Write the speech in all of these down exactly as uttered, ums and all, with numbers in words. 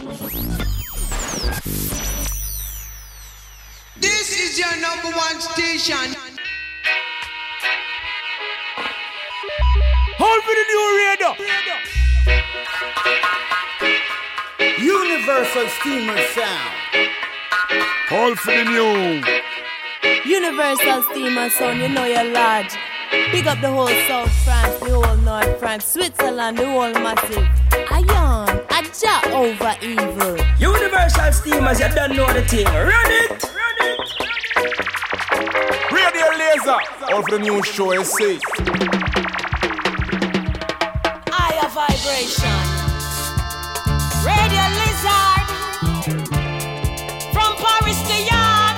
This is your number one station. Hold for the new radio. Universal Steamer Sound. Hold for the new. Universal Steamer Sound, you know you're large. Big up the whole South France, the whole North France, Switzerland, the whole massive. Ion, Aja over evil. Universal Steamers, you don't know the thing. Run it! Run it! Radio Laser. Hold for the new show, I say. Higher vibration. Radio Lizard. From Paris to Yard.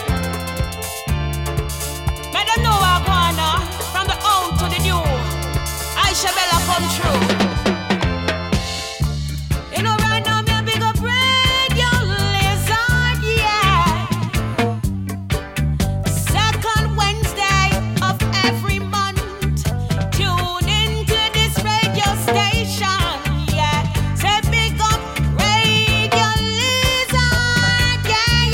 Made them know I wanna. From the old to the new. Aisha Bella come true. You know right now me a big up Radio Lizard, yeah. Second Wednesday of every month. Tune into this radio station, yeah. Say big up Radio Lizard, yeah,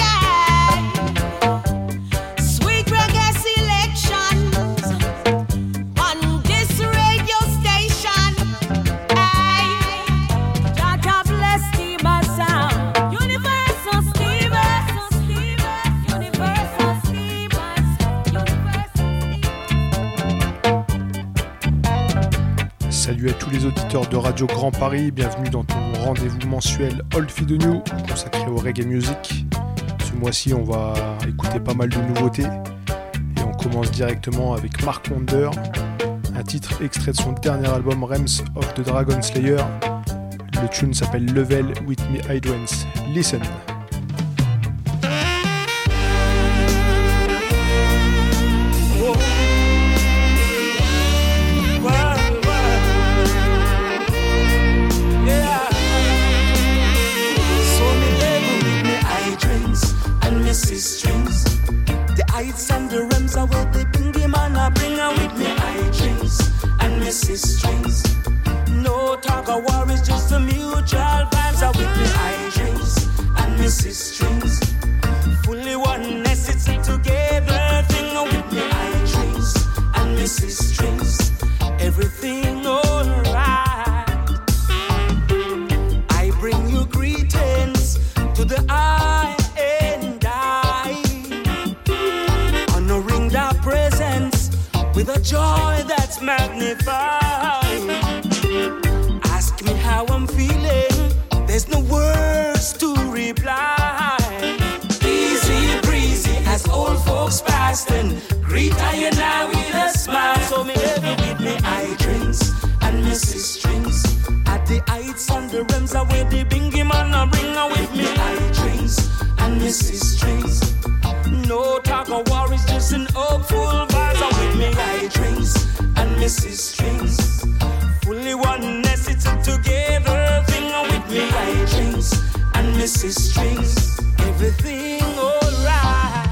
yeah. Sweet reggae selections on this radio station. Hey, God bless Steamer Sound. Universal Steamers, Universal Steamers, Universal. Salut à tous les auditeurs de Radio Grand Paris, bienvenue dans ton rendez-vous mensuel Old Feed New consacré au reggae music. Ce mois-ci on va écouter pas mal de nouveautés et on commence directement avec Mark Wonder, un titre extrait de son dernier album Realms of the Dragon Slayer. Le tune s'appelle Level with Me Hydrants. Listen. So me level with me hydrants and me strings. The heights and the realms are where they bring him and I bring her with me hydrants and me strings. No talk of war, it's just a mutual vibes are with me hydrants and me strings. Fully oneness, it's a together thing with me hydrants and me strings. Everything alright. I bring you greetings to the I and I, honoring their presence with a joy that's magnified. Ask me how I'm feeling, there's no words to reply. Easy breezy as old folks past and greet I and I with a smile. So me level with me hydrants and me strings. At the heights and the realms are where they bring him and I bring her with me hydrants and me strings. No talk of war, it's just an hopeful vibes are with me hydrants and me strings. Fully oneness, it's a together thing with me hydrants and me strings. Everything alright.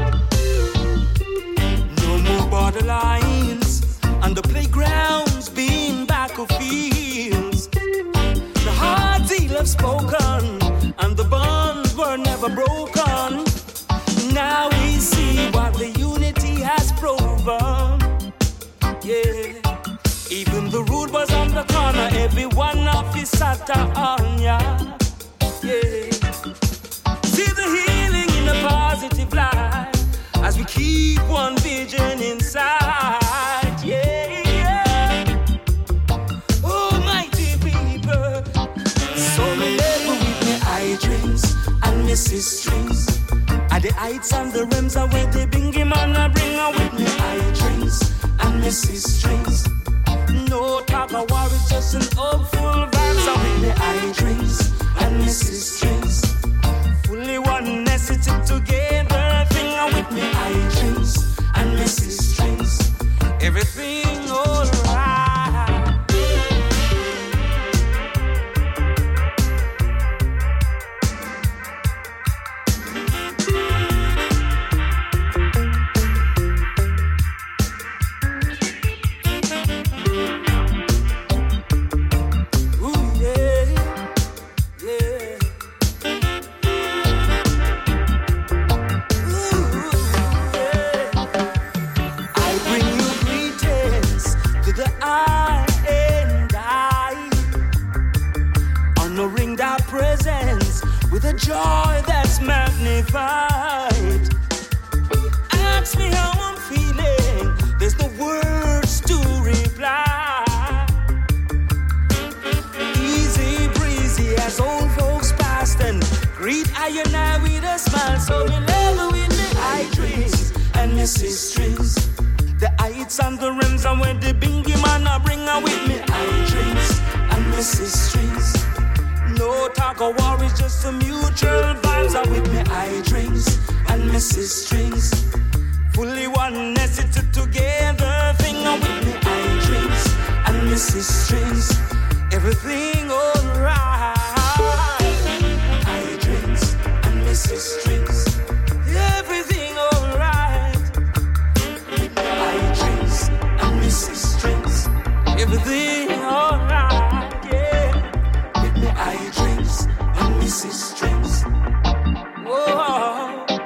No more borderlines and the playgrounds being battlefields. The hard deal have spoken and the bonds were never broken. Now we see what the unity has proven. Yeah. Even the road was on the corner, every one of his sat on ya. Yeah. See the healing in a positive light as we keep one vision inside. Yeah, yeah. Almighty people, so me level with me hydrants and me strings. At the heights and the realms are where they bring him and I bring her with me hydrants and me strings. No talk of war, it's just an hopeful vibes are with me hydrants and me strings. Fully oneness, it's a together thing with me hydrants and me strings. Everything alright. with a joy that's magnified. Ask me how I'm feeling, there's no words to reply. Easy breezy as old folks past and greet I and I with a smile. So we level with me high dreams and Missus Strings. The heights and the rims and when the bingy man I bring her with me high dreams and Missus Strings. No talk of war, it's just some mutual vibes are with me high dreams and Missus Strings. Fully oneness, it's a together thing with me high dreams and Missus Strings. Everything alright. High dreams and Missus Strings. Everything alright. High dreams and Missus Strings. Everything alright, yeah. With me high dreams and Missus Strings. Whoa.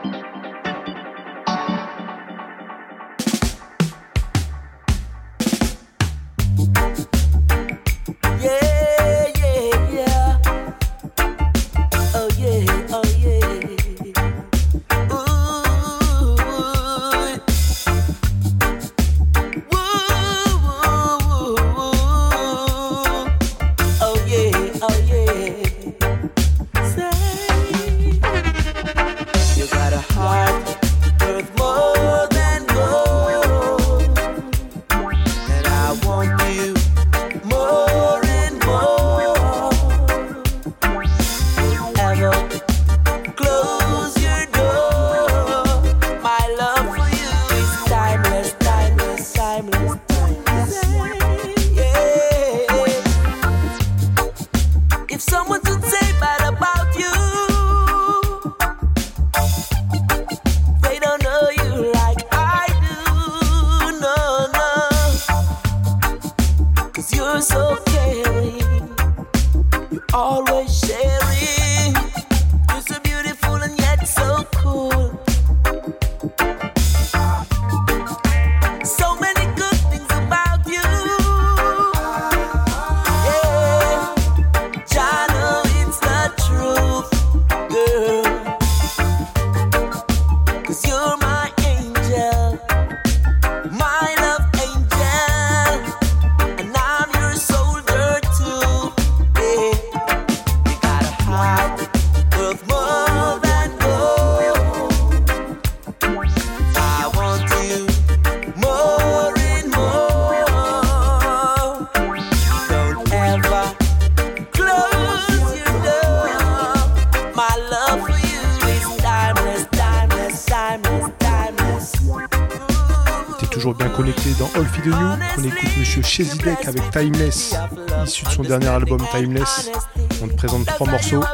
Chezidek avec Timeless, issu de son dernier album Timeless. On te présente trois morceaux.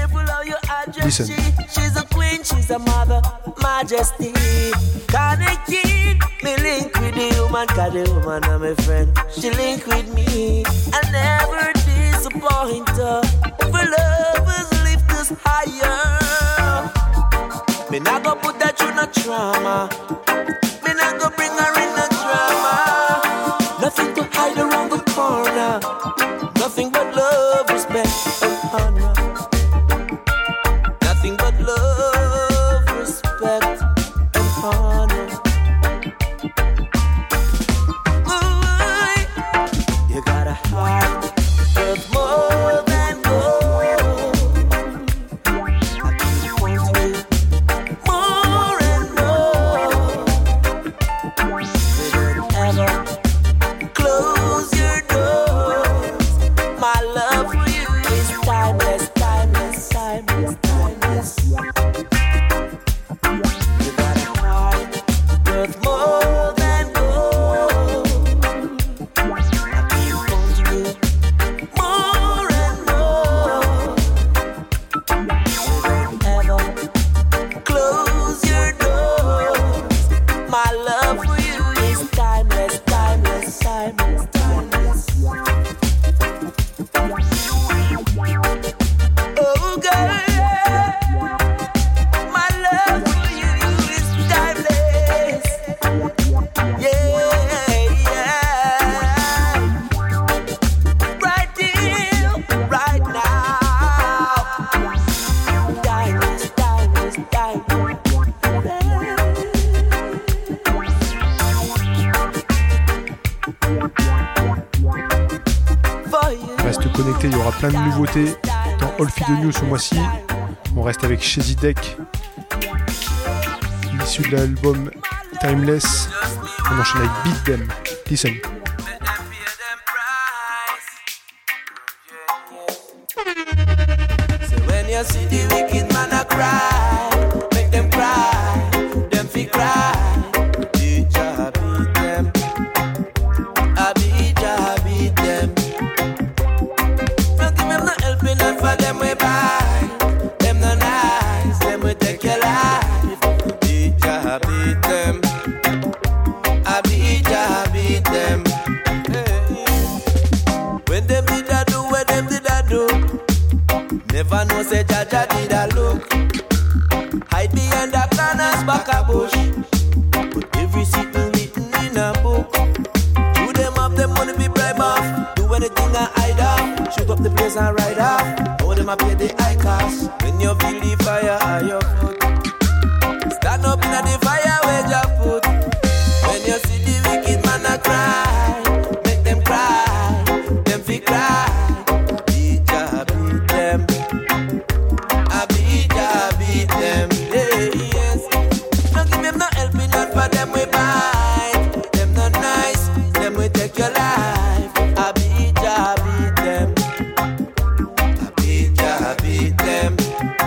Listen. She's a queen, she's a mother, majesty. Connected, me link with the human, cause the woman is my friend. She link with me, I never disappoint her. For lovers lift us higher. Me not go put that you no trauma. Me not go bring her in no drama. Nothing to hide around the corner. Nothing but love, respect, and honor. Nothing but love, respect, and honor. Ooh, you got a heart worth more than gold. I keep wanting you more and more. We don't ever close your doors. My love for you is timeless, timeless, timeless, timeless. You got a heart worth more than gold. I keep wanting you more and more. You don't ever close your doors. My love for you is timeless, timeless, timeless, timeless. Oh girl, my love for you is timeless. Yeah, yeah. Right here, right now. plein de nouveautés dans All Feed News ce mois-ci. On reste avec Shazzy Deck, issu de l'album Timeless. On enchaîne avec Beat Them. Listen. So when you see the wicked man a cry, make them cry, them fi cry. Beat ya, beat them. I beat ya, beat them. Don't give them no helping hand for them we buy. Them no nice, them we take your life. Beat ya, beat them. I beat ya, beat them. When them did I do, when them did I do? Never know say Jaja did a look. Hide behind the corners back a bush. Put every secret written in a book. Do them up, them money be bribe off. Do anything I hide off. Shoot up the place and ride off. Hold them up pay the high cost. When you feel the fire at your foot, stand up in the fire where you put. When you see the wicked man a cry, make them cry, them fi cry. Beat ya, beat them. I beat ya, beat them. Yeah, yes. Don't give them no helping hand for them we bite. Them no nice, them we take your life. I beat ya, beat them. I beat ya, beat them.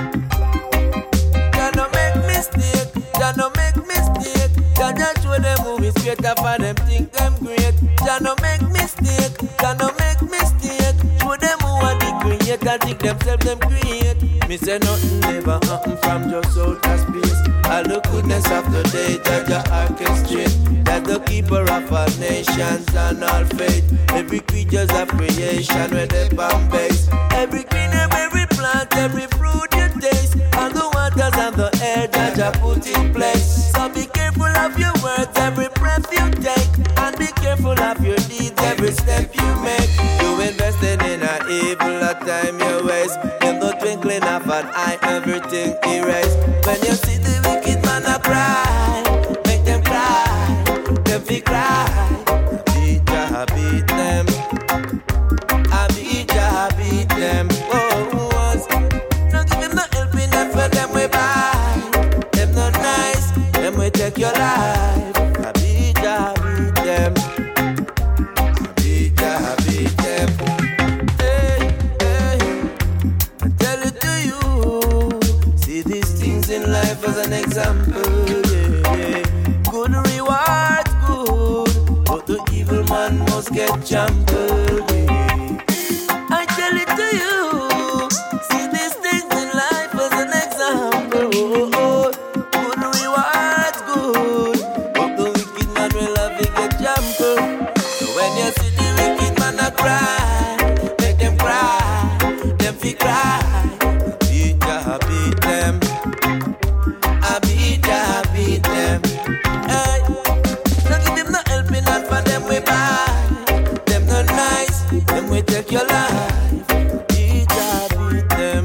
Ya no make mistake, ya no make mistake. Ya just show them movies straight up and them think them great. Ya no make mistake, ya no make mistake. Show them who are the creator, think themselves them create. Me say nothing never happen from just outer space. All the goodness of the day, Jaja orchestrate. That's the keeper of all nations and all faith. Every creature's of creation with the bomb base. Every green herb, every plant, every fruit you taste. All the waters and the air, Jaja put in place. So be careful of your words, every breath you take. And be careful of your deeds, every step you make. You invested in a evil, a time you waste. In the twinkling of an eye, everything erased. When you see the wicked man a cry, make them cry, them fi cry. Beat ya, beat them. I beat ya, beat them. Oh, once. Don't give them no helping hand for them we buy. Them no nice, them we take your life. I beat ya, beat them. I beat ya, beat them. Hey, hey, I tell it to you. See these things in life as an example. Yeah, yeah. Good rewards, good, but the evil man must get trampled. Yeah. I tell it to you. See these things in life as an example. Oh, oh, good rewards, good, but the wicked man will have to get trampled. So when you see the wicked man a cry, make them cry, them fi cry. Beat ya, beat them. I beat ya, beat them. Hey, don't give them no helping hand for them we buy. Them no nice, them we take your life. Beat ya, beat them.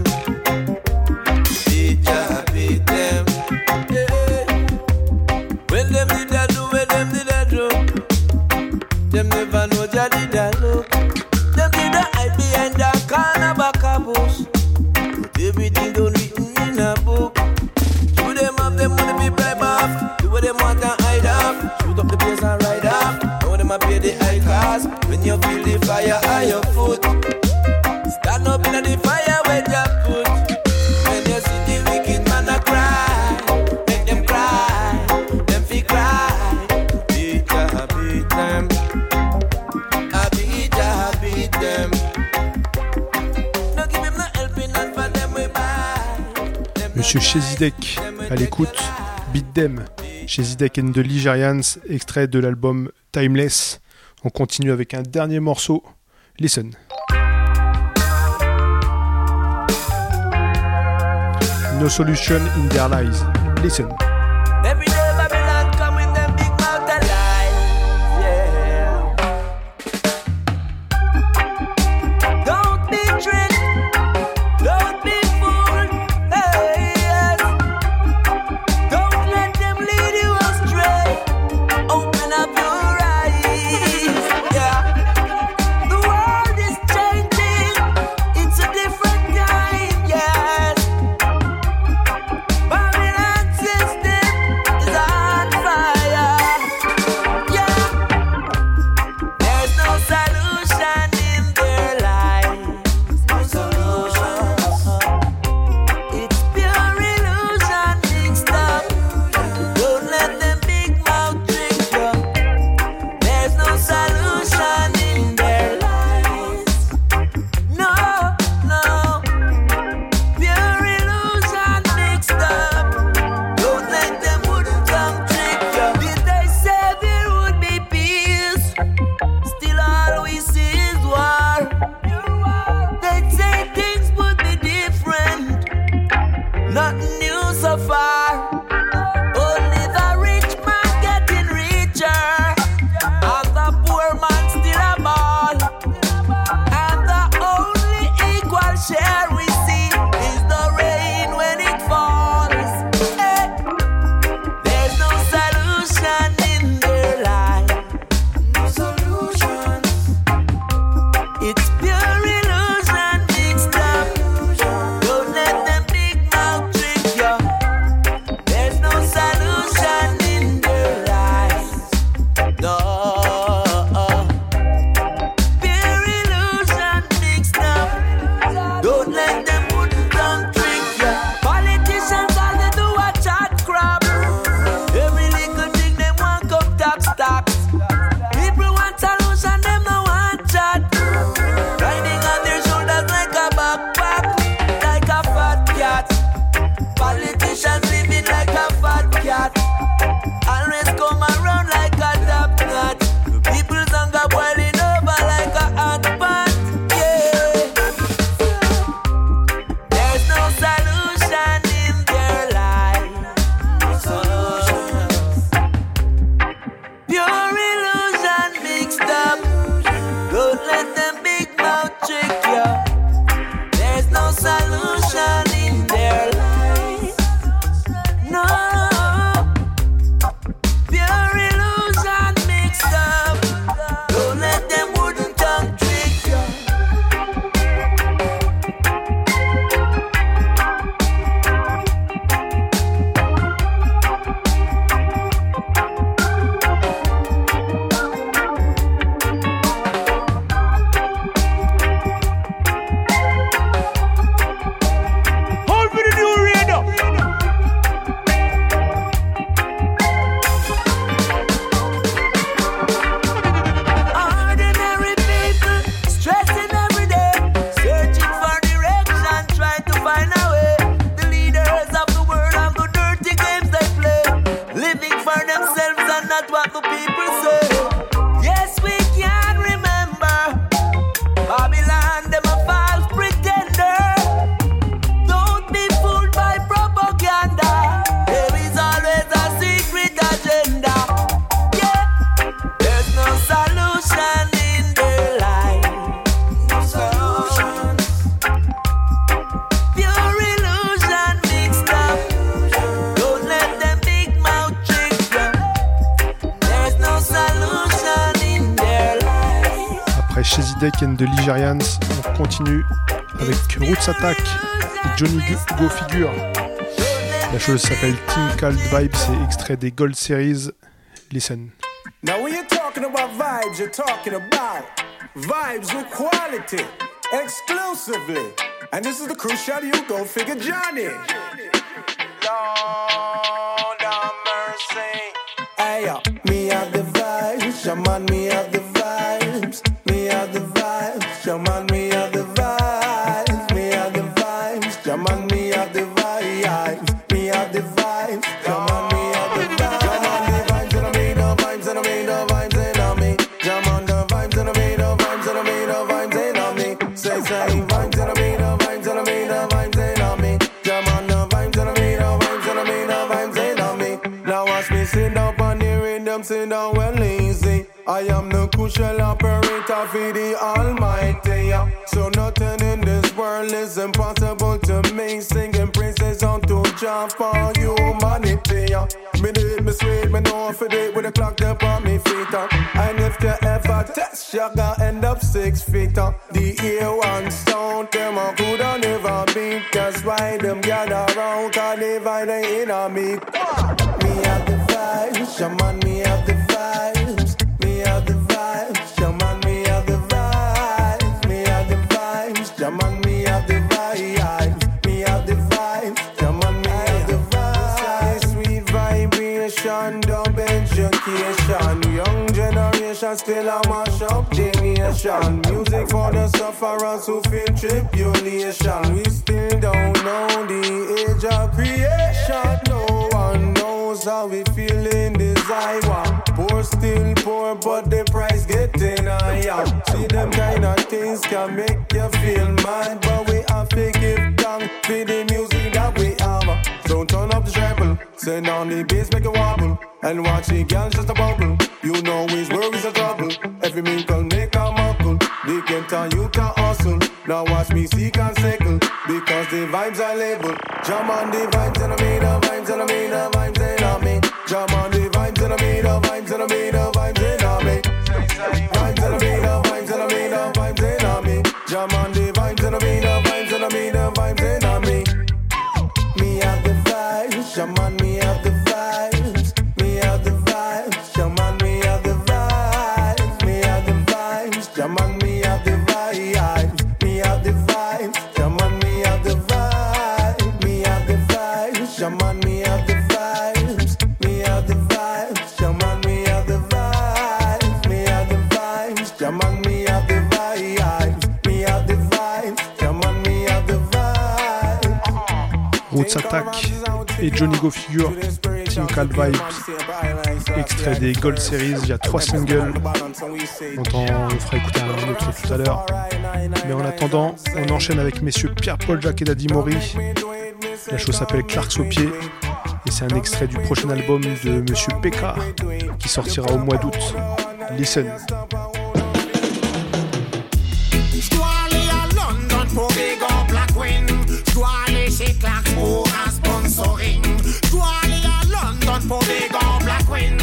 Beat ya, beat them. Yeah. When them did that do, when them did that do, them never know ya did that look. Them did that hide behind that corner back a bush. Put everything done written in a book. Do them up, them money be bribe off. Do what them want and hide off. Shoot up the place and ride off. Know them a pay the high cost. When you feel the fire at your foot, stand up in the fire where you put. When you see the wicked man a cry, make them cry, them fi cry. Beat ya, beat them. I beat ya, beat them. Don't give him no helping hand for them we buy. Monsieur Shazzy Deck à l'écoute. Beat Them, Shazzy Deck and the Ligerians, extrait de l'album Timeless. On continue avec un dernier morceau. Listen. No solution in their lies. Listen. Every day Babylon come with them big mouth of lies, yeah. Don't be tricked, don't be fooled, hey, yes. Don't let them lead you astray. Open up your eyes, yeah. The world is changing, Deck and the Ligerians. On continue avec Roots Attack et Johnny Go Figure. La chose s'appelle Team Called Vibes, c'est extrait des Gold Series. Listen. Now when you're talking about vibes, you're talking about vibes with quality, exclusively. And this is the crucial you go figure Johnny. Lord have mercy. Hey, yo, me have the vibes, shaman, me have the vibes. Me have the vibes, shaman, me have the vibes. Me have the vibes, shaman, me have the vibes. Me have the vibes, shaman, me have the vibes. Shaman, the vibes and I mean the vibes and I mean the vibes and I mean. Shaman, the vibes and I mean the vibes and I mean the vibes and I mean. Say, say, vibes and I mean the vibes and I mean the vibes and I mean. Shaman, the vibes and I mean the vibes and I mean the vibes and I mean. Now watch me sit up on the rhythm, sit down well easy. I am the crucial operator for the Almighty. So nothing in this world is impossible to me. Singing praises unto Jah for humanity. Me do it, me sweet, me know for it with a clock up on me feet. And if you ever test, you gonna end up six feet. The ear one sound, them a coulda never beat. That's why them gather round, cause they vibe they in a me. Me have the vibes, shaman, me have the vibes. Me have the vibes, shaman, me have the vibes. Me have the vibes, shaman, me have the vibes. Me have the vibes, shaman, me have the vibes. Sweet vibration, dumb education. Young generation still a mash up the nation. Music for the sufferers who feel tribulation. We still don't know the age of creation. No one knows how we feel in this Iowa. Poor still poor, but the price getting higher. See them kind of things can make you feel mad, but we have to give thanks for the music that we have. So turn up the treble, send on the bass, make it wobble, and watch the girls just a bubble. You know his worries are trouble. Every minkle make a muckle. They can tell you to hustle. Now watch me seek and circle, because the vibes are labeled. Jam on the vibes and I mean the vibes and I mean the vibes and I mean. Jam on the vibes and I mean the vibes and I mean the vibes and I mean. Vibes and I mean the vibes and I mean the vibes and I mean. Jam on the vibes and I mean the vibes and I mean the vibes and I mean. Me have the vibes, shaman, me have the vibes. Me have the vibes, shaman, me have the vibes. Me have the vibes, shaman, me have the vibes. Me have the vibes, shaman, me have the vibes. Me have the vibes, shaman, me have the vibes. Me have the vibes, shaman, me have the vibes. Me have the vibes, shaman, me have the vibes. Me have the vibes, shaman, me have the vibes. Roots Attack et Johnny Go Figure, Team Called Vibes, extrait des Gold Series. Il y a trois singles. On, on fera écouter un autre tout à l'heure. Mais en attendant, on enchaîne avec messieurs Pierre-Paul Jacques et Daddy Mori. La chose s'appelle Clarks au pied et c'est un extrait du prochain album de monsieur P K qui sortira au mois d'août. Listen. Pour Big Up la Queen, je dois aller chez Clarks pour un sponsoring. Je dois aller à London pour Big Up la Queen.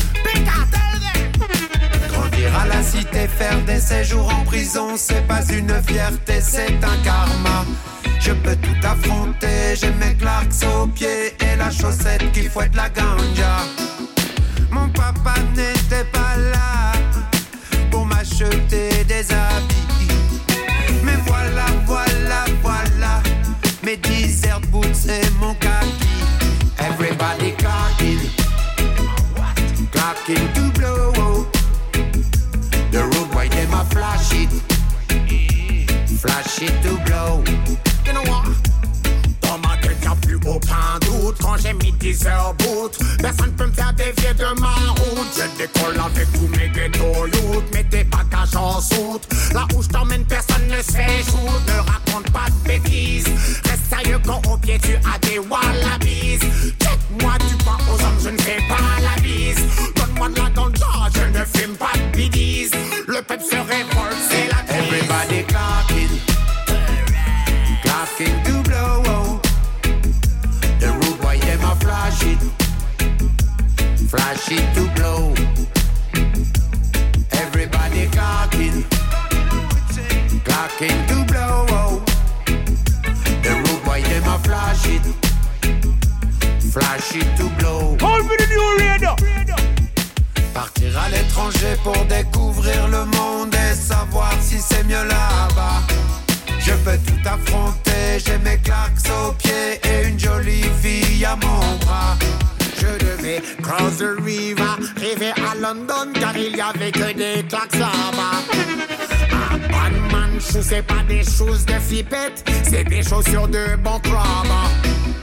Grandir à la cité, faire des séjours en prison, c'est pas une fierté, c'est un karma. Je peux tout affronter, j'ai mes Clarks aux pieds et la chaussette qui fouette la ganja. Mon papa n'était pas là pour m'acheter des habits. Mais voilà, voilà, voilà, mes desert boots et mon kaki. Everybody clocking, clocking to blow. The road boy, them a flash it, flash it to blow. You know what? Dans ma tête y'a plus aucun doute. Quand j'ai mis dix heures boot, personne peut me faire dévier de ma route. Je décolle avec tous mes ghetto youth. Mets tes bagages en soute. Là où je t'emmène personne ne se fait shoot. Ne raconte pas de bêtises. Reste sérieux quand au pied tu as des wallabies. Check-moi, tu crois aux hommes, je ne fais pas la bise. Donne-moi de la ganja, je ne fume pas de bidis. Le peuple se révolte, c'est la crise. Everybody clocking, clocking to blow. The road boy, them a flash it, flash it to blow. Everybody clocking, flash it, flash it to blow. Hold for the new radio. Partir à l'étranger pour découvrir le monde et savoir si c'est mieux là-bas. Je peux tout affronter, j'ai mes claques aux pieds et une jolie fille à mon bras. Je devais cross the river, arriver à London car il y avait que des claques là-bas. Un bad man shoe, c'est pas des choses de flippette, c'est des chaussures de bon crabbe.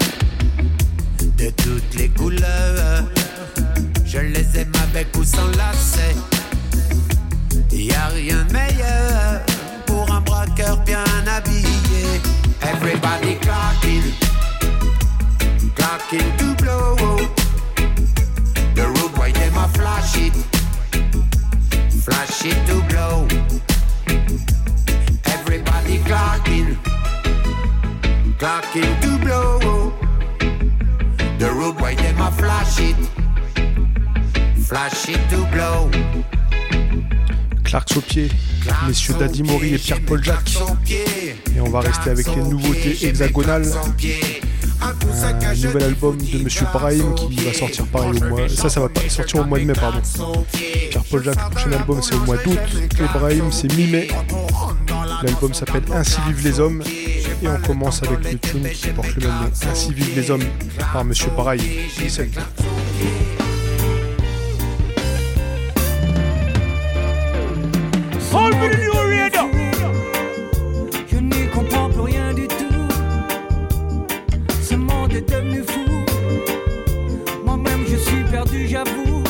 De toutes les couleurs, je les aime avec ou sans lacets. Y'a rien de meilleur pour un braqueur bien habillé. Everybody clocking, clocking to blow. The road boy them a flash it, flash it to blow. Everybody clocking, clocking to blow. The road boy them a flash it, flash it to blow. Clarks au pied, messieurs Daddy Mori et Pierre-Paul Jacques. Et on va rester avec les nouveautés hexagonales. Un nouvel album de Monsieur Brahim qui va sortir pareil au mois. Ça, ça va pas sortir au mois de mai, pardon. Pierre-Paul Jacques, le prochain album c'est au mois d'août. Et Brahim c'est mi-mai. L'album s'appelle Ainsi vivent les hommes. Et on commence avec le tune qui porte le même nom. Ainsi vivent les hommes par Monsieur Brahim. C'est Hold for the new radio. Je n'y comprends plus rien du tout. Ce monde est devenu fou. Moi-même je suis perdu, j'avoue.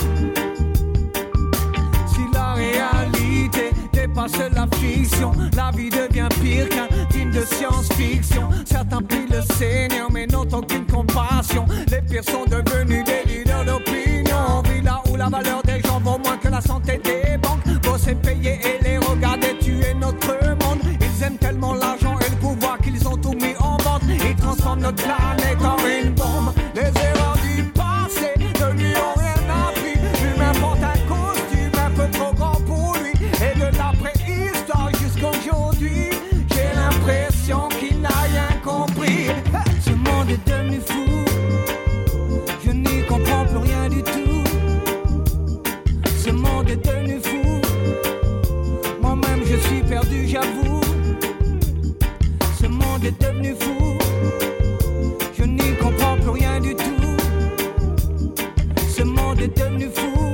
Si la réalité dépasse la fiction, la vie devient pire qu'un film de science-fiction. Certains prient le Seigneur mais n'ont aucune compassion. Les pires sont devenus des leaders d'opinion. On vit là où la valeur des gens vaut moins que la santé des banques. Bosser, payer et les regarder tuer notre monde. Ils aiment tellement l'argent et le pouvoir qu'ils ont tout mis en vente. Ils transforment notre planète en une bombe. Les erreurs du passé ne lui ont rien appris. L'humain porte un costume un peu trop grand pour lui. Et de la préhistoire jusqu'à aujourd'hui, j'ai l'impression qu'il n'a rien compris. Ce monde est devenu fou. Je n'y comprends plus rien du tout. Ce monde est devenu fou. Moi-même je suis perdu, j'avoue. Ce monde est devenu fou. Je n'y comprends plus rien du tout. Ce monde est devenu fou.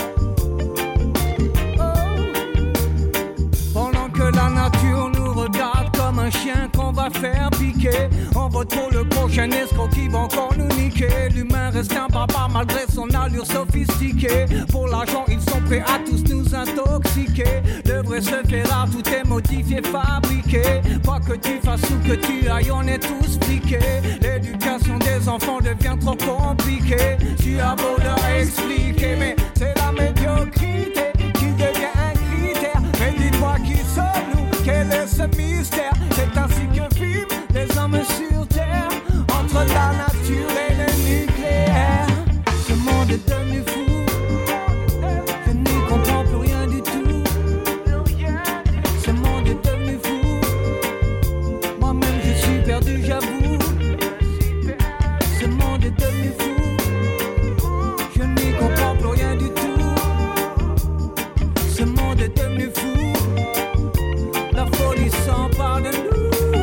Oh. Pendant que la nature nous regarde comme un chien qu'on va faire piquer, on vote pour le prochain escroc qui va encore nous niquer. L'humain reste un barbare malgré son allure sophistiquée. Pour l'argent ils sont prêts à tous nous intoxiquer. Le vrai se fait rare, tout est modifié, fabriqué. Quoi que tu fasses ou que tu ailles, on est tous fliqués. L'éducation des enfants devient trop compliquée. Tu as beau leur expliquer, mais c'est la médiocrité qui devient un critère. Mais dis-moi qui sommes-nous, quel est ce mystère? C'est ainsi que vivent les hommes sur terre, entre la nature et le nucléaire. Ce monde est devenu fou. Je n'y comprends plus rien du tout. Ce monde est devenu fou. Moi-même je suis perdu, j'avoue. Ce monde est devenu fou. Je n'y comprends plus rien du tout. Ce monde est devenu fou. La folie s'empare de nous.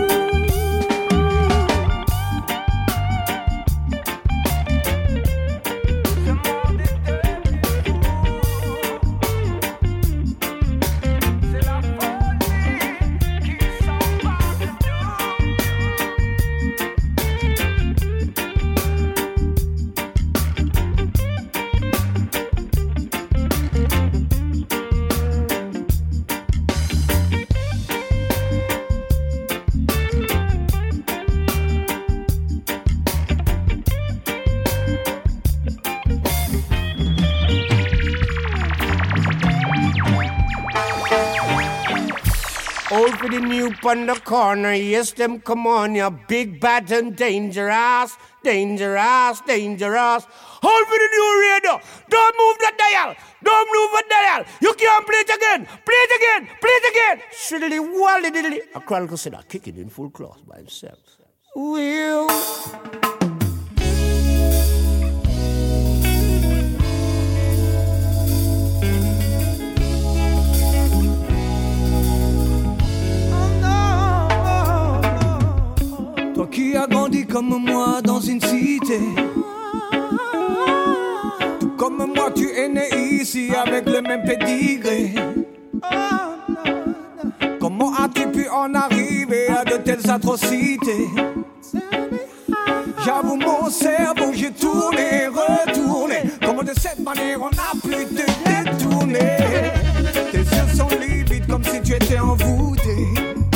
Hold for the new on the corner, yes, them come on, you big, bad and dangerous, dangerous, dangerous. Hold for the new radio. Don't move the dial. Don't move the dial. You can't play it again. Play it again. Play it again. Shiddly wally diddly. A crawl consider kicking in full class by himself. Will. comme moi dans une cité. Tout comme moi tu es né ici avec le même pédigré. Comment as-tu pu en arriver à de telles atrocités? J'avoue mon cerveau, j'ai tourné, retourné. Comment de cette manière on n'a plus de détourner? Tes yeux sont livides comme si tu étais envoûté.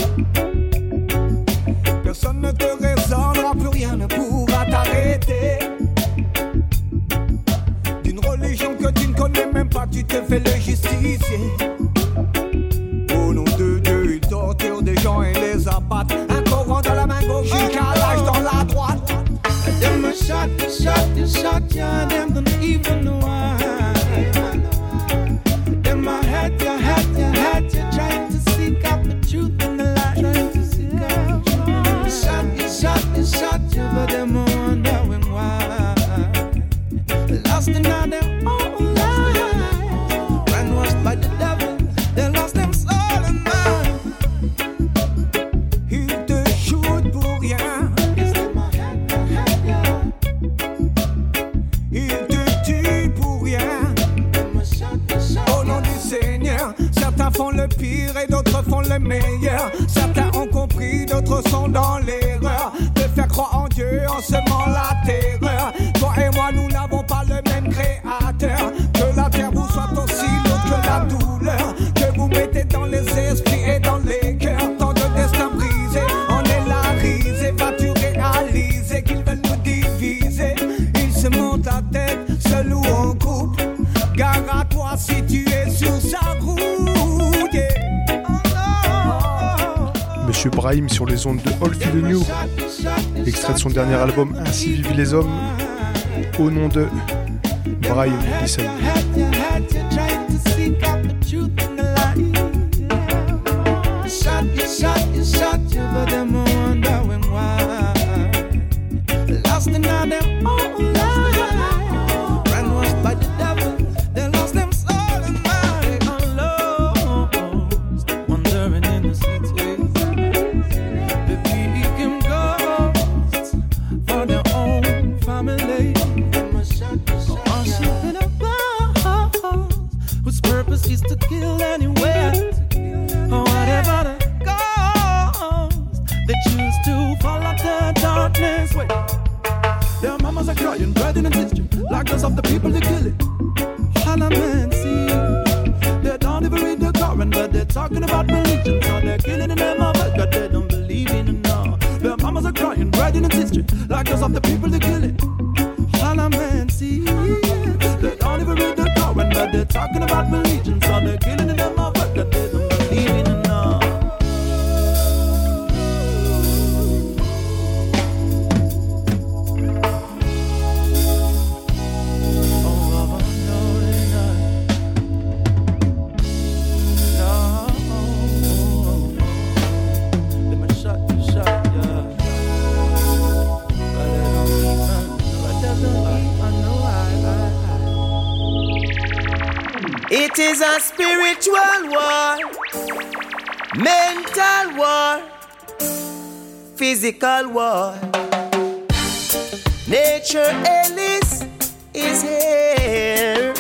Personne ne te raisonnera, plus rien ne pourra t'arrêter. D'une religion que tu ne connais même pas, tu te fais le justicier. Au nom de Dieu, ils torturent des gens et les abattent. Un Coran dans la main gauche, une calage dans la droite. Them a shot, you shot, you shot, yeah, them don't even know why. Them a had you, had you, had you, trying to seek out the truth in the light. Trying to seek out the truth. You shot, you shot, you shot, you, but them a wondering why. Lost in all their own life, brainwashed by the devil, they lost them soul and mind. Ils te shootent pour rien. Certains font le pire et d'autres font le meilleur. Certains ont compris, d'autres sont dans l'erreur de faire croire en Dieu en semant la terreur. Toi et moi, nous n'avons pas le même créateur. Que la terre vous soit aussi lourde que la douleur que vous mettez dans les esprits et dans les cœurs. Tant de destins brisés, on est la risée. Vas-tu réaliser qu'ils veulent nous diviser? Ils se montent à tête, seul ou en couple. Gare à toi si tu es sur sa route. Monsieur Brahim sur les ondes de All Feel the New, extrait de son dernier album Ainsi vivent les hommes, au nom de Brahim Listen. Of the people they kill it. All a man see, they don't even read the Quran, but they're talking about religion. So they're killing in them of God, they don't believe in it now. Their mamas are crying, writing in history, like those of the people they kill it. All a man see, they don't even read the Quran, but they're talking about religion. So they're killing in them of God, they don't believe in it now. It is a spiritual war, mental war, physical war. Nature Ellis is here.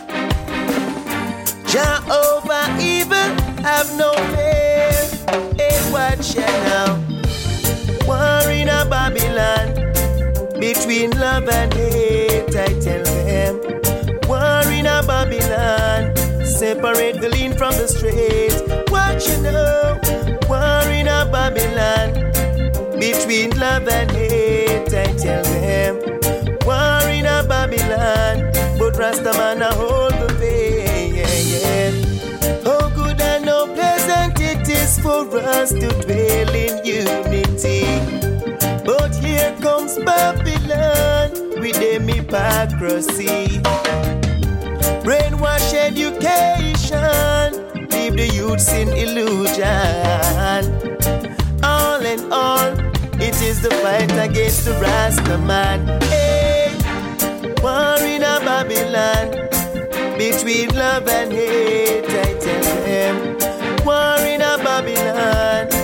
Jehovah evil, have no fear. Hey, watch ya now. War in a Babylon, between love and hate, I tell them. War in a Babylon, separate the lean from the straight. What you know? War in a Babylon, between love and hate, I tell them. War in a Babylon, but Rastaman a hold the way, yeah, yeah. Oh, good and how pleasant it is for us to dwell in unity. But here comes Babylon with them hypocrisy. Brainwash education, leave the youths in illusion. All in all, it is the fight against the Rastaman. Hey, war in a Babylon, between love and hate, I tell them. War in a Babylon,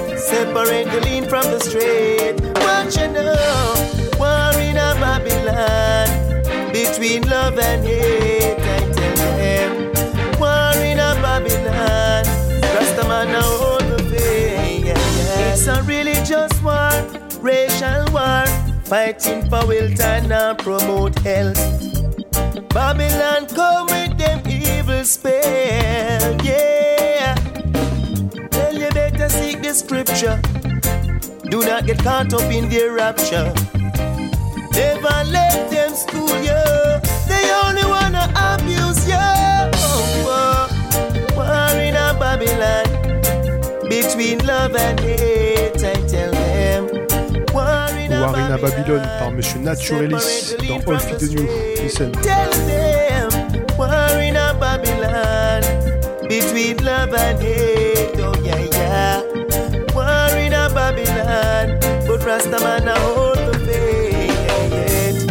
separate the lean from the straight. What you know, war in a Babylon, between love and hate, I tell them. War in a Babylon, Rastaman now hold the faith. Yeah, yeah. It's a religious war, racial war, fighting for wealth and now promote health. Babylon come with them evil spell, yeah. Well, you better seek the scripture. Do not get caught up in their rapture. Never let them school you. They only wanna abuse you. Oh, oh. War in a Babylon, between love and hate, I tell them. War in a Babylone par Monsieur Naturalis dans All Feed the New. Listen. Tell them, war in a Babylon, between love and hate, oh yeah, yeah. War in a Babylon, but Rastaman now hold the faith.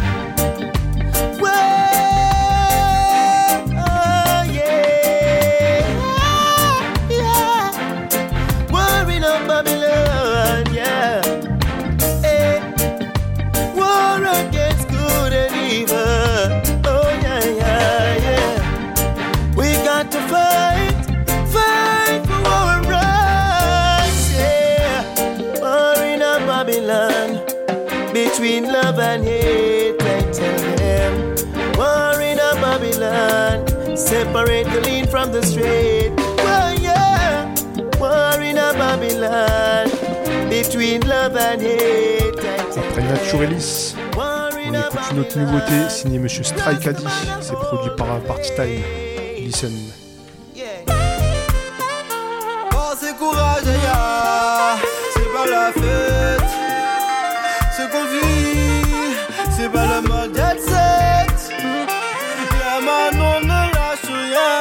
Well, oh yeah, yeah. War in a Babylon, yeah. Hey. War against good and evil, oh yeah, yeah, yeah. We got to fight, fight for our rights, yeah. War in a Babylon, between love and hate, I tell them. War in a Babylon, separate the lean from the straight. Well, yeah. War in a Babylon, between love and hate, I tell Après Naturalis, on écoute une autre nouveauté signée Monsieur Strike Addy. C'est produit par Party Time. Listen. Force et courage, ya, c'est pas la fête. Ce qu'on vit, c'est pas le mode jet set. Y'a Manon, ne lâche rien,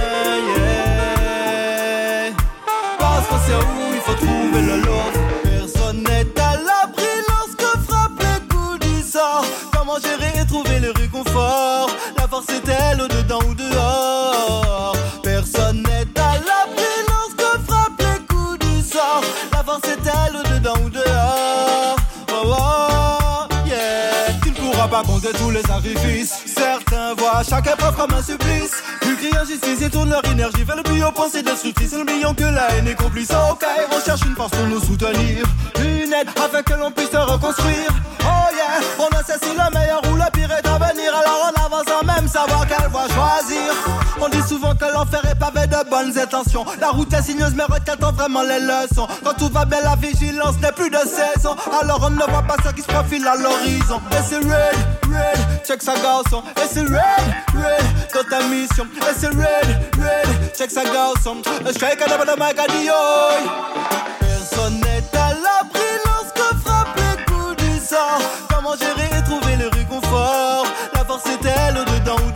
yeah. Parce qu'on sait où il faut trouver le lot. Personne n'est à l'abri lorsque frappe les coups du sort. Comment gérer et trouver le réconfort? La force est-elle au-dedans ou dehors? Personne n'est à l'abri lorsque frappe les coups du sort. La force est-elle au-dedans ou dehors? Oh, oh, yeah. Tu ne pourras pas compter tous les sacrifices. Certains voient chaque épreuve comme un supplice. Plus crient injustice et tournent leur énergie vers le plus haut pensée destructrice. Ils oublions que la haine est complice. Ok, on cherche une force pour nous soutenir, une aide afin que l'on puisse se reconstruire. Oh yeah, on ne sait si le meilleur ou le pire est à venir. Alors on avance sans même savoir quelle voie choisir. On dit souvent que l'enfer est pavé de bonnes intentions. La route est sinueuse mais requêtant vraiment les leçons. Quand tout va bien la vigilance n'est plus de saison. Alors on ne voit pas ce qui se profile à l'horizon. Et c'est red, red, check sa garçon. Et c'est red, red, dans ta mission. Et c'est red, red, check sa garçon. Le strike à la bonne mic à Dioy. Personne n'est à l'abri lorsque frappe les coups du sort. Comment gérer et trouver le réconfort? La force est-elle au-dedans ou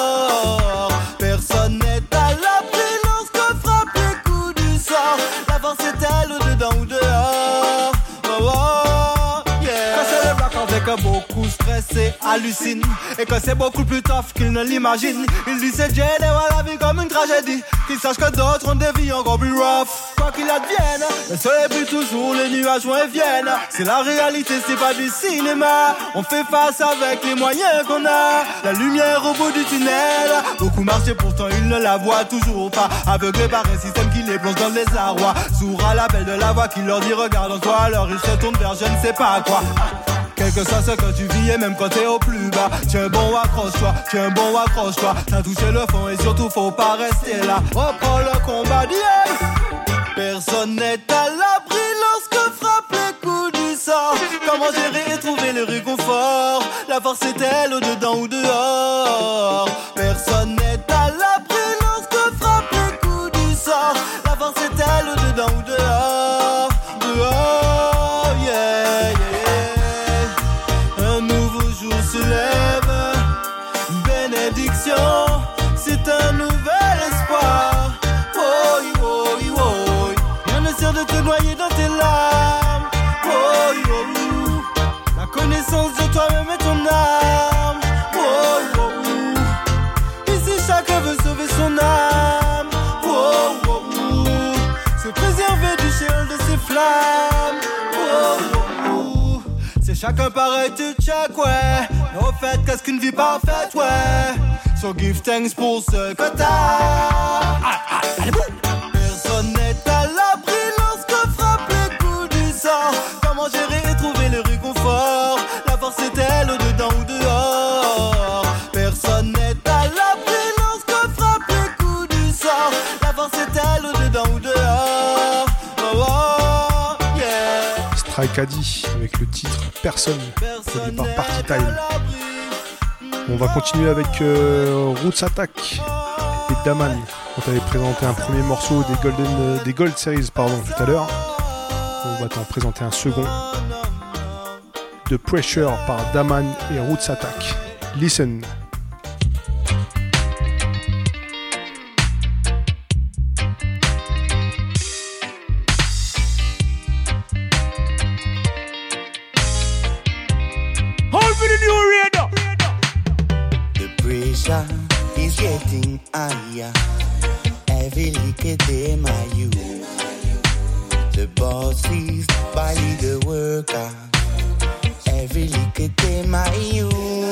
dehors? Personne n'est à l'abri lorsque frappe les coups du sort. La force est-elle au-dedans ou dehors? Oh, oh, yeah. Quand c'est le black avec beaucoup stressé, hallucine. Et que c'est beaucoup plus tough qu'il ne l'imagine. Il dit c'est Jay et voit la vie comme une tragédie. Qu'il sache que d'autres ont des vies encore plus rough. Quoi qu'il advienne, le soleil brille toujours, les nuages vont et viennent. C'est la réalité, c'est pas du cinéma. On fait face avec les moyens qu'on a. La lumière au bout du tunnel. Beaucoup marchaient pourtant ils ne la voient toujours pas. Aveuglés par un système qui les plonge dans le désarroi. Sourd à l'appel de la voix qui leur dit regarde en toi. Alors ils se tournent vers je ne sais pas quoi. Quel que soit ce que tu vis et même quand t'es au plus bas. Tiens bon accroche-toi, tiens bon accroche-toi. T'as touché le fond et surtout faut pas rester là. Reprends le combat d'hier. Personne n'est à l'abri lorsque frappe les coups du sort. Comment gérer et trouver le réconfort? La force est-elle au-dedans ou dehors? Personne n'est à l'abri lorsque frappe les coups du sort. La force est-elle au-dedans ou dehors? Dehors, yeah, yeah. Un nouveau jour se lève. Bénédiction, c'est un nouvel espoir. Oh, oh, oh. Rien ne sert de te noyer dans tes larmes. Oh, oh, oh. La connaissance de toi-même est ton âme. Oh, oh, oh. Ici chacun veut sauver son âme. Oh, oh, oh. Se préserver du ciel de ses flammes. Chacun pareil, tu check, ouais. Mais au fait, qu'est-ce qu'une vie parfaite, ouais. So give thanks pour ce que t'as. Ah, ah, allez, boum. Personne n'est à l'abri lorsque frappe les coups du sort. Comment gérer et trouver le réconfort? La force est-elle au-dedans ou dehors? Personne n'est à l'abri lorsque frappe les coups du sort. La force est-elle au-dedans ou dehors? Oh, oh, yeah. Strike Addy avec le titre Personne, produit par Party Time. On va continuer avec euh, Roots Attack et Daman. On t'avait présenté un premier morceau des Golden, euh, des Gold Series pardon, tout à l'heure. On va t'en présenter un second. The Pressure par Daman et Roots Attack. Listen. Is getting higher. Every little day, my you. The boss is by the worker. Every little day, my you.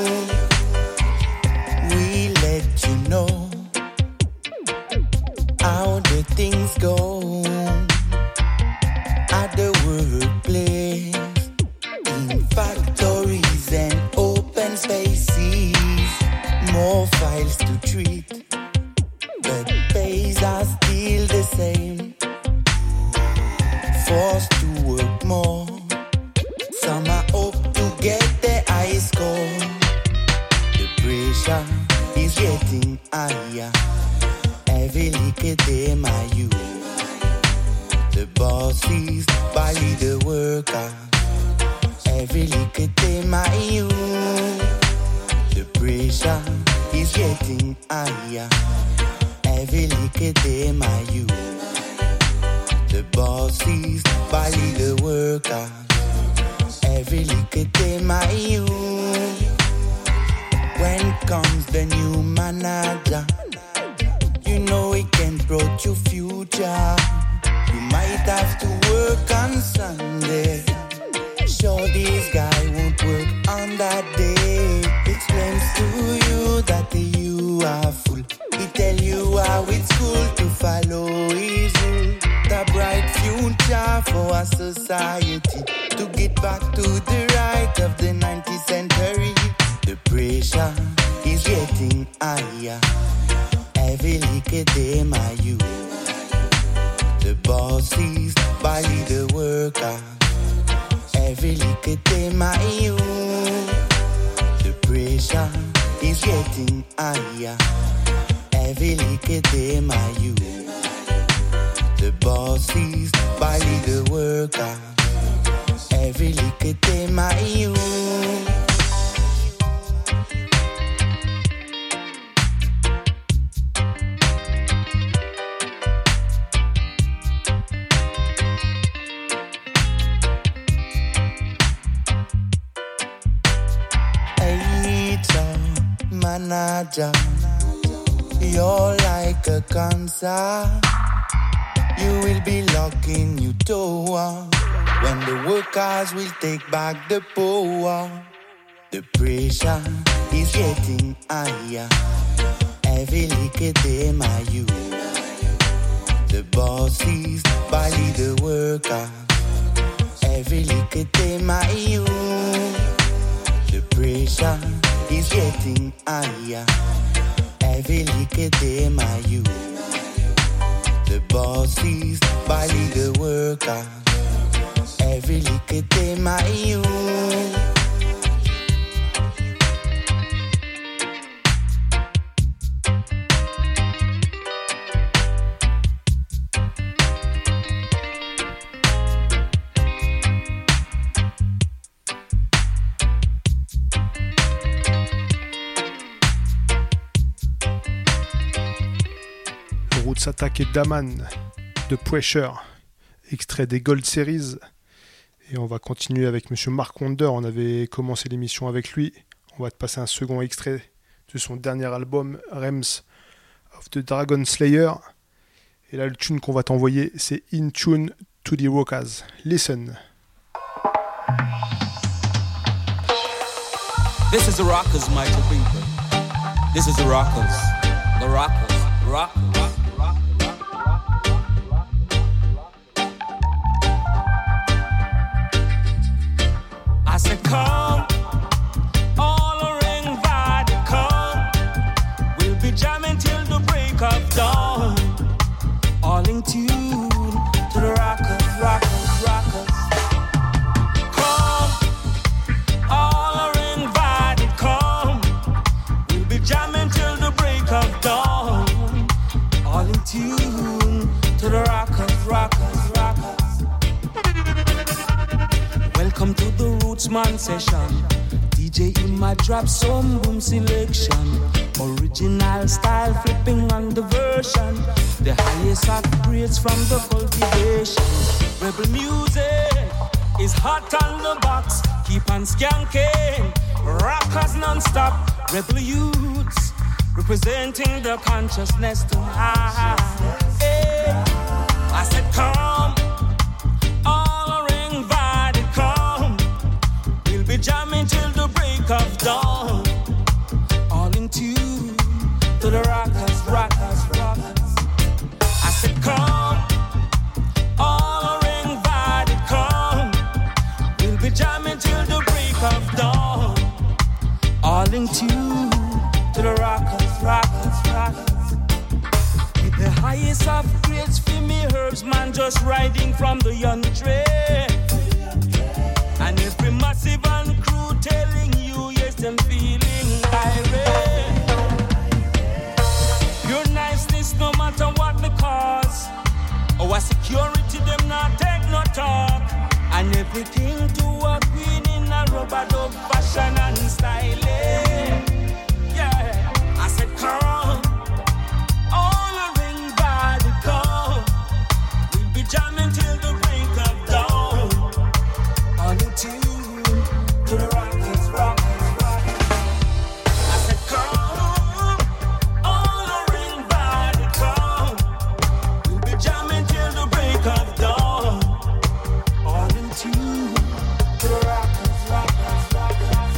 We let you know how the things go at the workplace, in factories and open spaces. More files to treat, but pays are still the same. Forced to work more, some are hope to get the high score. The pressure is getting higher. Every little day, my you. The boss is by the worker. Every little day, my you. The pressure is getting higher. Every little day, my you. The boss is by the worker. Every little day, my you. When comes the new manager, you know he can brought you future. You might have to work on Sunday. Sure, this guy won't work on that day. Explains to you that you are full. He tell you how it's cool to follow his rule. The bright future for our society, to get back to the right of the nineteenth century. The pressure is getting higher. Every little day, my you. The boss is by the worker. Every little day, my you. The pressure is getting higher. Every little day, my you. The boss is by the worker. Every little day, my you. Manager, you're like a cancer. You will be locking your door when the workers will take back the power. The pressure is getting higher. Every little day, my you. The boss is by the worker. Every little day, my you. The pressure is getting higher. Every little day, my you. The boss is by the worker. Every little day, my you. Roots Attack et Daman, The Pressure, extrait des Gold Series. Et on va continuer avec Monsieur Mark Wonder. On avait commencé l'émission avec lui. On va te passer un second extrait de son dernier album, Realms of the Dragon Slayer. Et là, le tune qu'on va t'envoyer, c'est In Tune to the Rockers. Listen. This is the Rockers, mighty people. This is the Rockers. The Rockers. Rockers. I said, come, all are invited, come. We'll be jamming till the break of dawn. All in tune to the Rockers, Rockers, Rockers. Come, all are invited, come. We'll be jamming till the break of dawn. All in tune to the Rockers, Rockers, Rockers. Welcome to the Rootsman session. D J in my drop some boom selection. Original style flipping on the version. The highest of grades from the cultivation. Rebel music is hot on the box. Keep on skanking. Rockers non-stop. Rebel youths representing the consciousness tonight. Hey, I said come. Be jamming till the break of dawn. All in tune to the Rockers, Rockers, Rockers. I said come, all are invited, come. We'll be jamming till the break of dawn. All in tune to the Rockers, Rockers, Rockers. With the highest of grades for me herbs, man, just riding from the young train. And every massive and crew telling you, yes, them feeling irate. Your niceness, no matter what the cause. Our security, them not take no talk. And everything to a queen in a rubber dog fashion and styling. Yeah, I said come, all are invited, come. We'll be jamming till the break of dawn. All in tune to the Rockers, Rockers, Rockers. I said come, all are invited, come. We'll be jamming till the break of dawn. All in tune to the Rockers, Rockers, Rockers.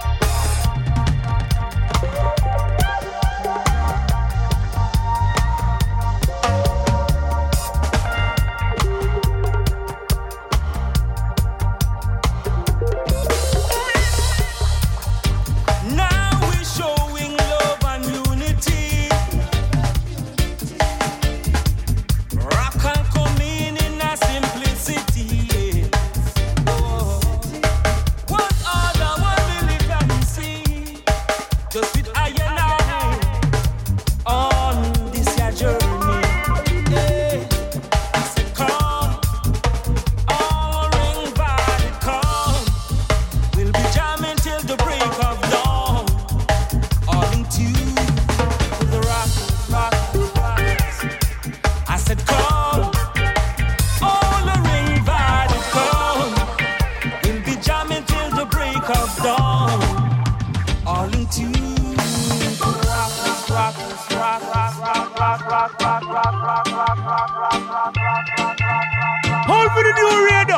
Hold for the new radio.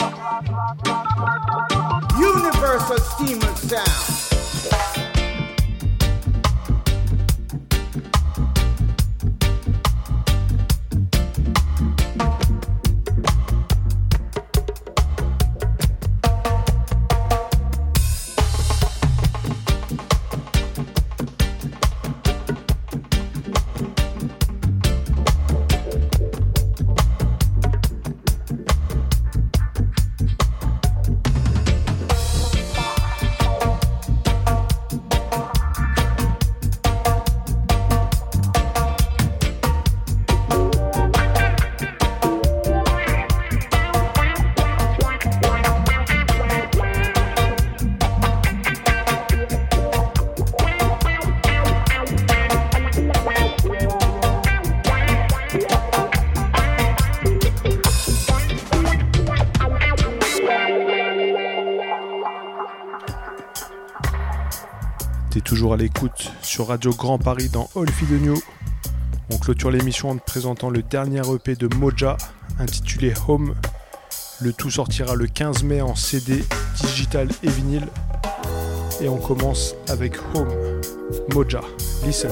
Universal Steamer Sound. Toujours à l'écoute sur Radio Grand Paris dans All Feed the New. On clôture l'émission en te présentant le dernier E P de Moja intitulé Home. Le tout sortira le quinze mai en C D, digital et vinyle. Et on commence avec Home, Moja, Listen.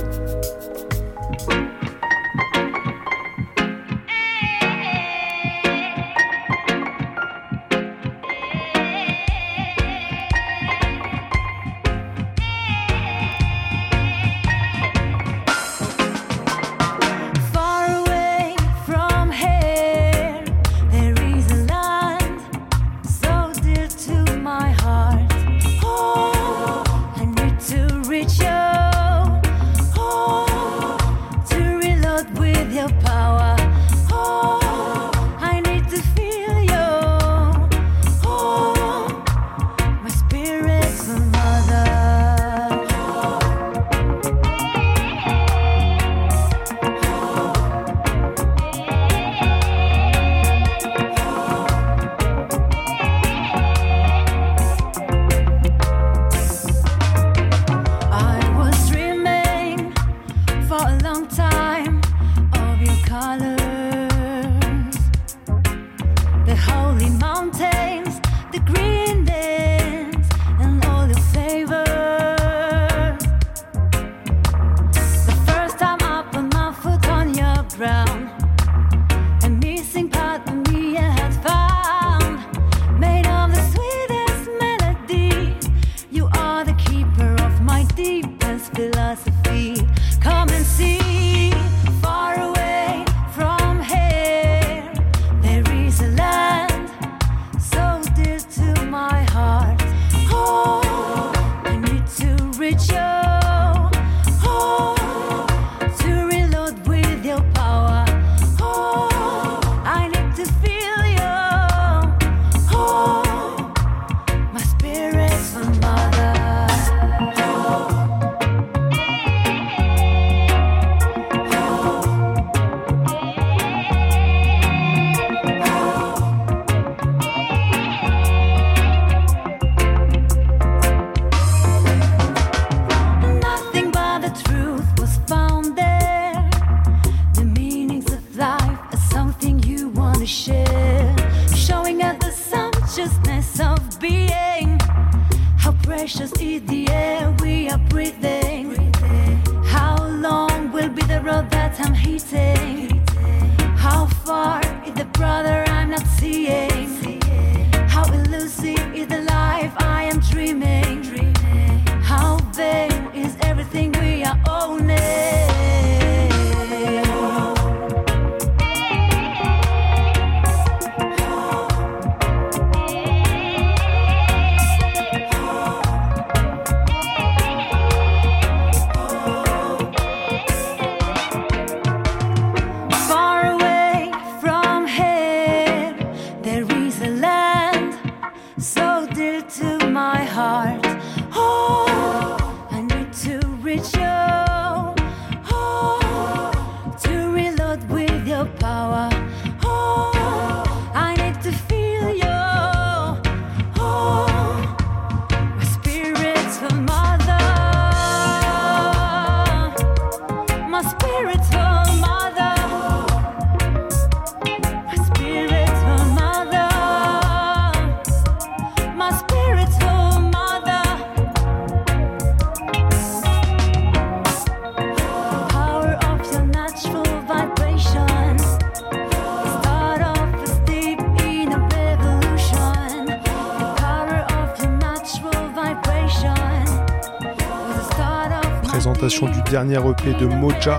Du dernier E P de Moja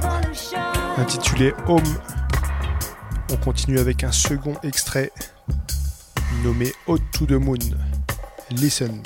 intitulé Home. On continue avec un second extrait nommé Hot to the Moon. Listen.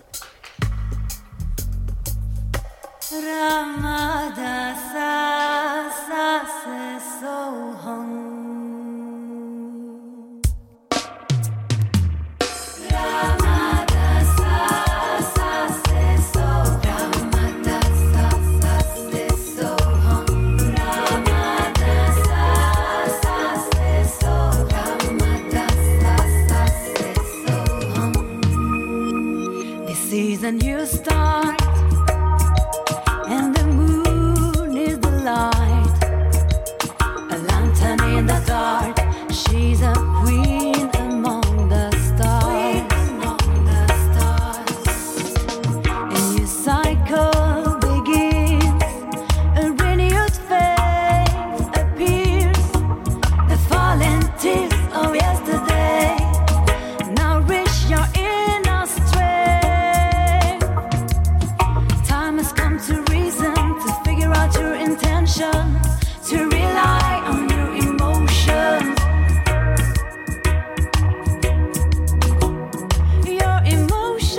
A new start, and the moon is the light, a lantern in the dark. She's a queen among the stars, among the stars. And you passion, to rely on your emotions. Your emotions.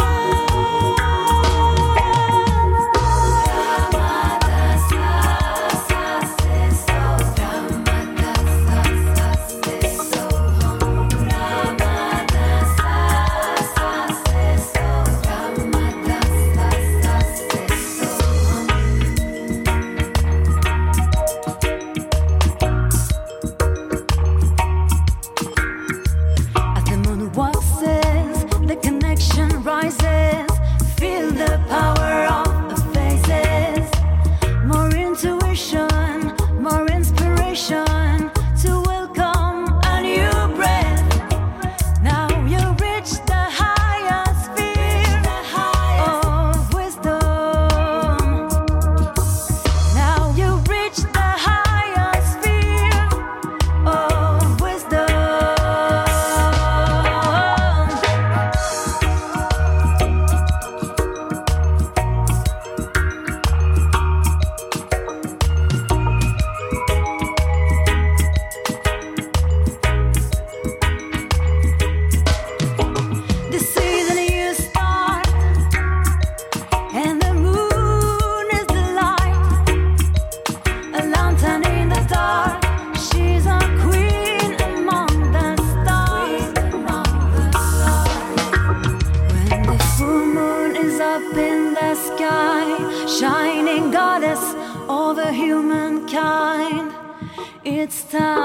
Rises, feel the power of the faces. More intuition, more inspiration to welcome a new breath. Now you reach the higher sphere of wisdom. Now you reach the higher sphere of wisdom. Shining goddess over humankind, it's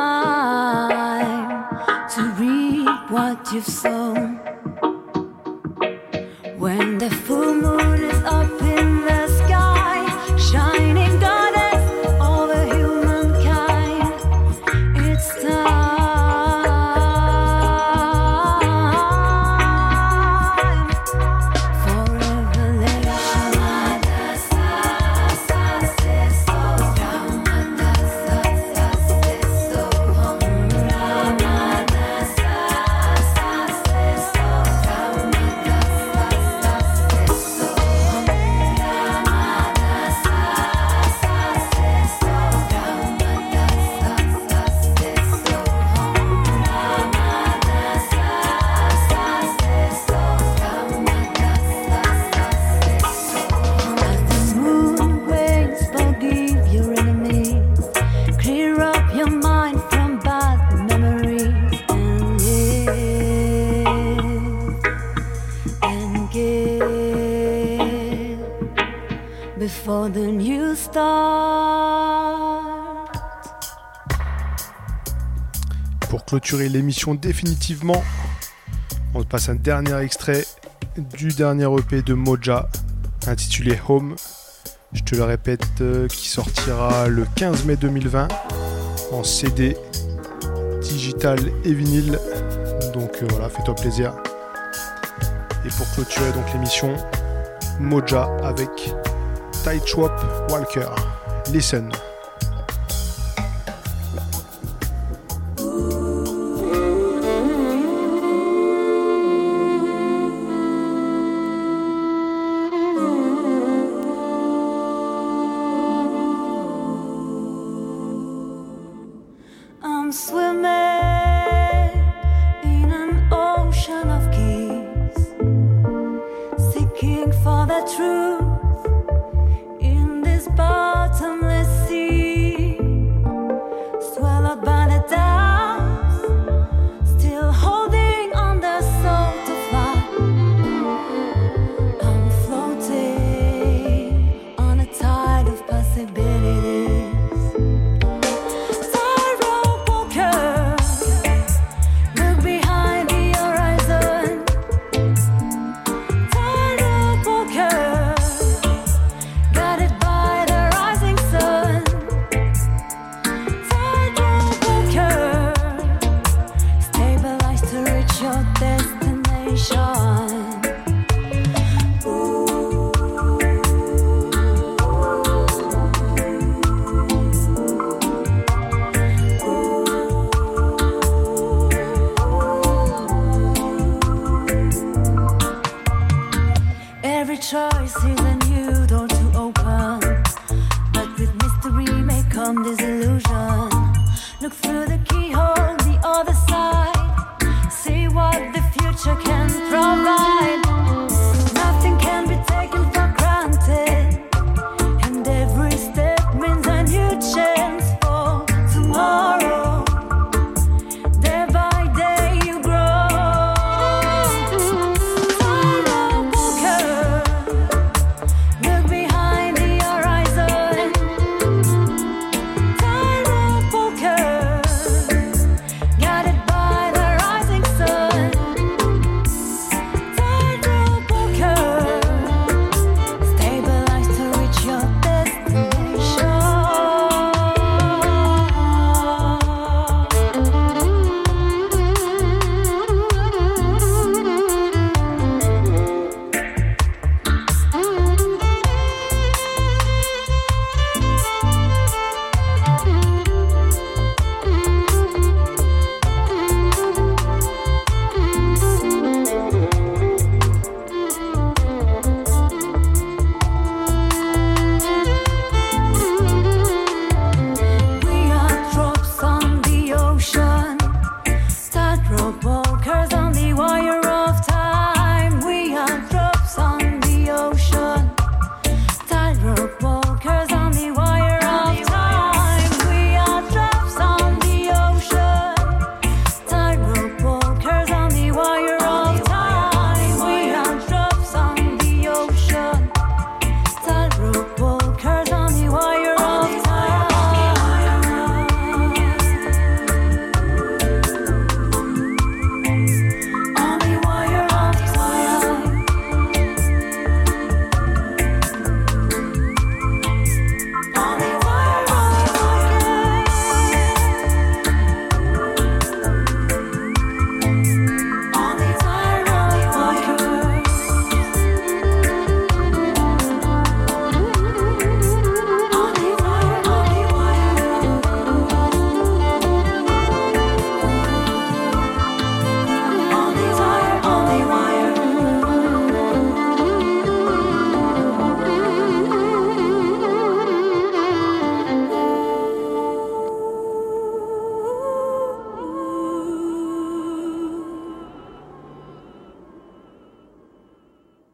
time to reap what you've sown. When the full moon is up in the sky, shining goddess over humankind, it's time for revelation. Before the new start. Pour clôturer l'émission définitivement, on passe un dernier extrait du dernier E P de Moja intitulé Home. Je te le répète, euh, qui sortira le quinze mai deux mille vingt en C D, digital et vinyle. Donc euh, voilà, fais-toi plaisir. Et pour clôturer donc l'émission, Moja avec Tight Swap Walker. Listen.